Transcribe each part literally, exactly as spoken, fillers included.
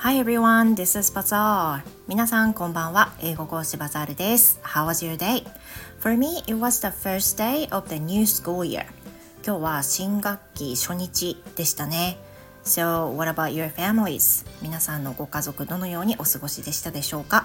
Hi everyone, this is Bazaar. 皆さんこんばんは。英語講師バザールです。How was your day? For me, it was the first day of the new school year. 今日は新学期初日でしたね。So, what about your families? 皆さんのご家族どのようにお過ごしでしたでしょうか？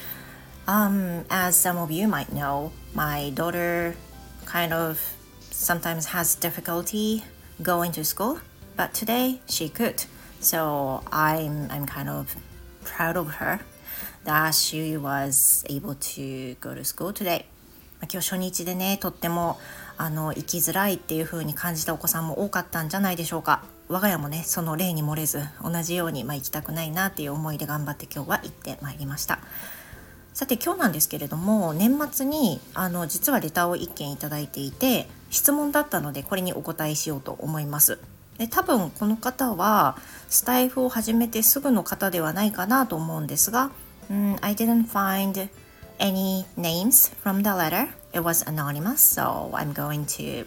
Um, as some of you might know, my daughter kind of sometimes has difficulty going to school, but today she could.So I'm, I'm kind of proud of her that she was able to go to school today. 今日初日でね、とってもあの生きづらいっていう風に感じたお子さんも多かったんじゃないでしょうか。我が家もね、その例に漏れず同じように、まあ、行きたくないなっていう思いで頑張って今日は行ってまいりました。さて今日なんですけれども、年末にあの実はレターをいっけんいただいていて、質問だったのでこれにお答えしようと思います。で多分この方はスタイフを始めてすぐの方ではないかなと思うんですが、mm, I didn't find any names from the letter. It was anonymous, so I'm going to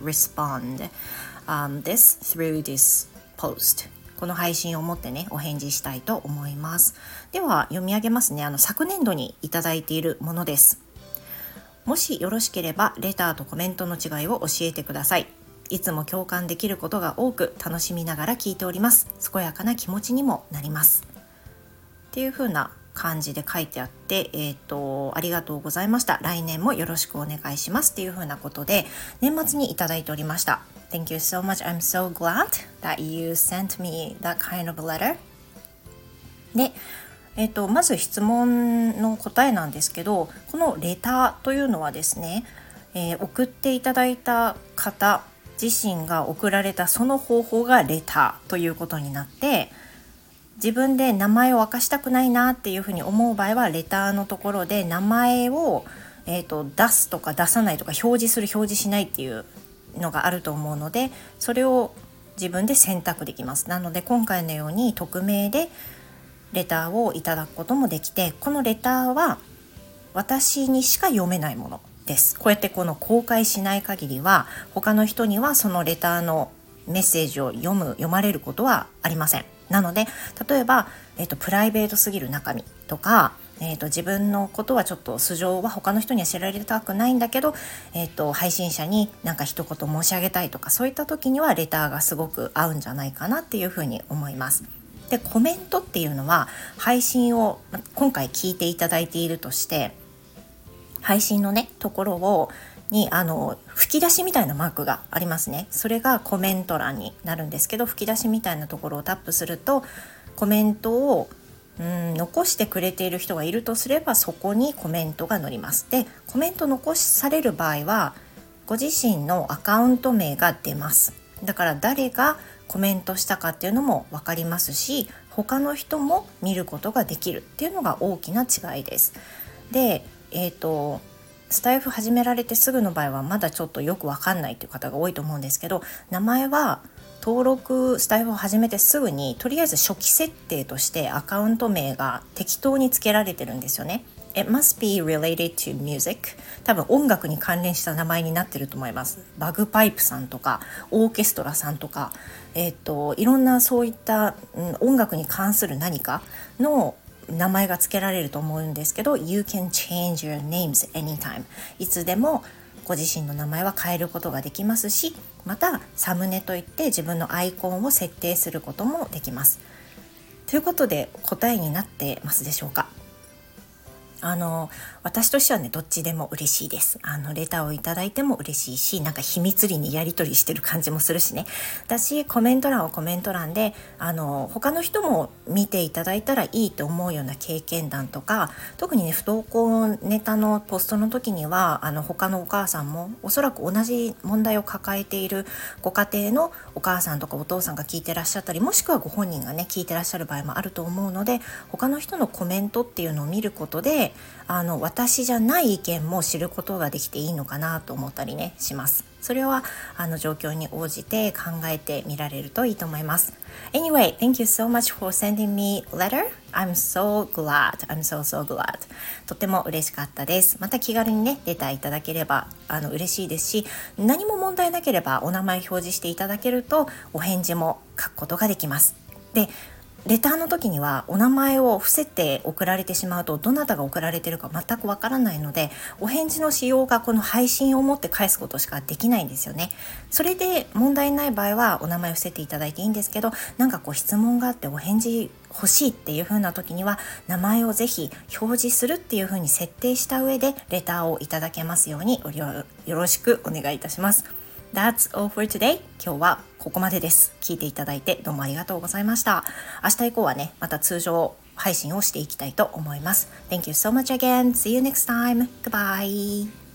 respond、um, this through this post. この配信をもってね、お返事したいと思います。では読み上げますね。あの昨年度にいただいているものです。もしよろしければレターとコメントの違いを教えてください。いつも共感できることが多く楽しみながら聞いております。健やかな気持ちにもなりますっていう風な感じで書いてあって、えーと、ありがとうございました。来年もよろしくお願いしますっていう風なことで年末にいただいておりました。 Thank you so much. I'm so glad that you sent me that kind of letter. でえーと、まず質問の答えなんですけど、このレターというのはですね、えー、送っていただいた方自身が送られたその方法がレターということになって、自分で名前を明かしたくないなっていうふうに思う場合はレターのところで名前を、えーと、出すとか出さないとか表示する表示しないっていうのがあると思うので、それを自分で選択できます。なので今回のように匿名でレターをいただくこともできて、このレターは私にしか読めないものです。こうやってこの公開しない限りは他の人にはそのレターのメッセージを読む読まれることはありません。なので例えば、えーと、プライベートすぎる中身とか、えーと、自分のことはちょっと素性は他の人には知られたくないんだけど、えーと、配信者になんか一言申し上げたいとか、そういった時にはレターがすごく合うんじゃないかなっていうふうに思います。でコメントっていうのは配信を今回聞いていただいているとして、配信のねところをにあの吹き出しみたいなマークがありますね。それがコメント欄になるんですけど、吹き出しみたいなところをタップするとコメントをうん残してくれている人がいるとすれば、そこにコメントが載ります。でコメント残される場合はご自身のアカウント名が出ます。だから誰がコメントしたかっていうのも分かりますし、他の人も見ることができるっていうのが大きな違いです。でえーと、スタイフ始められてすぐの場合はまだちょっとよくわかんないという方が多いと思うんですけど、名前は登録スタイフを始めてすぐにとりあえず初期設定としてアカウント名が適当につけられてるんですよね。It must be related to music. 多分音楽に関連した名前になってると思います。バグパイプさんとかオーケストラさんとか、えーと、いろんなそういった、うん、音楽に関する何かの名前が付けられると思うんですけど、 You can change your names anytime. いつでもご自身の名前は変えることができますし、またサムネといって自分のアイコンを設定することもできます。ということで答えになってますでしょうか？あの私としてはね、どっちでも嬉しいです。あのレターをいただいても嬉しいし、なんか秘密裏にやり取りしてる感じもするしね。だしコメント欄はコメント欄であの他の人も見ていただいたらいいと思うような経験談とか、特にね不登校ネタのポストの時にはあの他のお母さんもおそらく同じ問題を抱えているご家庭のお母さんとかお父さんが聞いてらっしゃったり、もしくはご本人がね聞いてらっしゃる場合もあると思うので、他の人のコメントっていうのを見ることであの私じゃない意見も知ることができていいのかなと思ったりねします。それはあの状況に応じて考えてみられるといいと思います。Anyway, thank you so much for sending me letter. I'm so glad. I'm so so glad. とても嬉しかったです。また気軽にねレターいただければあの嬉しいですし、何も問題なければお名前表示していただけるとお返事も書くことができます。でレターの時にはお名前を伏せて送られてしまうと、どなたが送られているか全くわからないので、お返事のしようがこの配信をもって返すことしかできないんですよね。それで問題ない場合はお名前を伏せていただいていいんですけど、なんかこう質問があってお返事欲しいっていう風な時には、名前をぜひ表示するっていう風に設定した上でレターをいただけますようによろしくお願いいたします。That's all for today. 今日はここまでです。聞いていただいてどうもありがとうございました。明日以降はね、また通常配信をしていきたいと思います。Thank you so much again. See you next time. Goodbye.